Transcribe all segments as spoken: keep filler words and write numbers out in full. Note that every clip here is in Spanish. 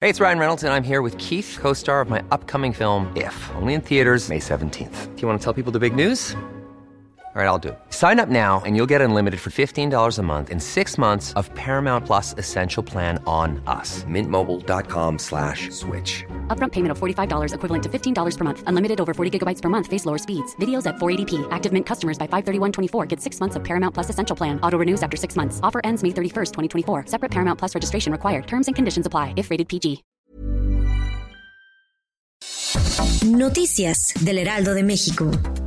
Hey, it's Ryan Reynolds, and I'm here with Keith, co-star of my upcoming film, If, only in theaters May seventeenth. Do you want to tell people the big news? All right, I'll do it. Sign up now and you'll get unlimited for fifteen dollars a month and six months of Paramount Plus Essential Plan on us. Mint Mobile dot com slash switch. Upfront payment of forty-five dollars equivalent to fifteen dollars per month. Unlimited over forty gigabytes per month. Face lower speeds. Videos at four eighty p. Active Mint customers by five thirty-one twenty-four get six months of Paramount Plus Essential Plan. Auto renews after six months. Offer ends May thirty-first, twenty twenty-four. Separate Paramount Plus registration required. Terms and conditions apply if rated P G. Noticias del Heraldo de México.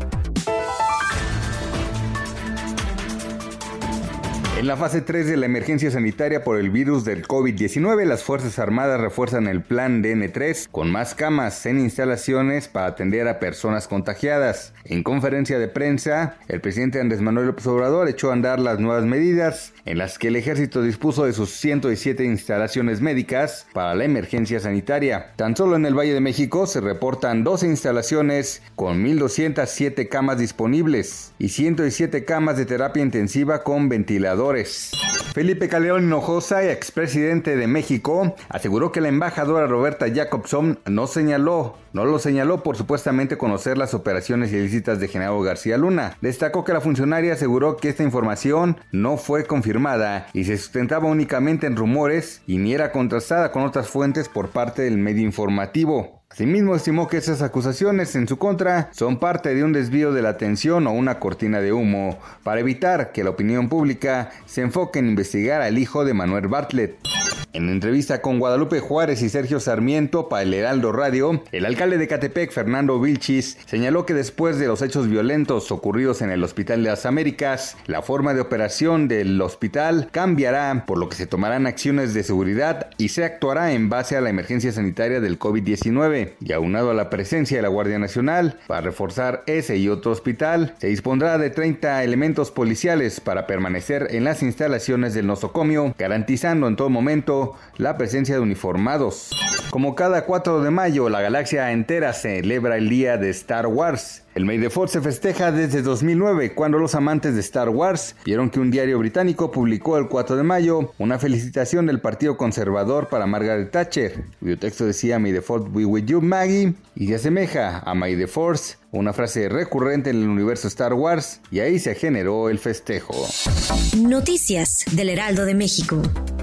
En la fase tres de la emergencia sanitaria por el virus del COVID diecinueve, las Fuerzas Armadas refuerzan el plan D N tres con más camas en instalaciones para atender a personas contagiadas. En conferencia de prensa, el presidente Andrés Manuel López Obrador echó a andar las nuevas medidas en las que el ejército dispuso de sus ciento diecisiete instalaciones médicas para la emergencia sanitaria. Tan solo en el Valle de México se reportan doce instalaciones con mil doscientas siete camas disponibles y ciento diecisiete camas de terapia intensiva con ventilador. Felipe Calderón Hinojosa, expresidente de México, aseguró que la embajadora Roberta Jacobson no señaló, no lo señaló por supuestamente conocer las operaciones ilícitas de Genaro García Luna. Destacó que la funcionaria aseguró que esta información no fue confirmada y se sustentaba únicamente en rumores y ni era contrastada con otras fuentes por parte del medio informativo. Asimismo, estimó que esas acusaciones en su contra son parte de un desvío de la atención o una cortina de humo para evitar que la opinión pública se enfoque en investigar al hijo de Manuel Bartlett. En entrevista con Guadalupe Juárez y Sergio Sarmiento para el Heraldo Radio, el alcalde de Ecatepec, Fernando Vilchis, señaló que después de los hechos violentos ocurridos en el Hospital de las Américas, la forma de operación del hospital cambiará, por lo que se tomarán acciones de seguridad y se actuará en base a la emergencia sanitaria del COVID diecinueve. Y aunado a la presencia de la Guardia Nacional para reforzar ese y otro hospital, se dispondrá de treinta elementos policiales para permanecer en las instalaciones del nosocomio, garantizando en todo momento la presencia de uniformados. Como cada cuatro de mayo, la galaxia entera celebra el día de Star Wars. El May the Fourth se festeja desde dos mil nueve, cuando los amantes de Star Wars vieron que un diario británico publicó el cuatro de mayo una felicitación del Partido Conservador para Margaret Thatcher, cuyo texto decía May the Fourth be with you, Maggie, y se asemeja a May the Fourth, una frase recurrente en el universo Star Wars, y ahí se generó el festejo. Noticias del Heraldo de México.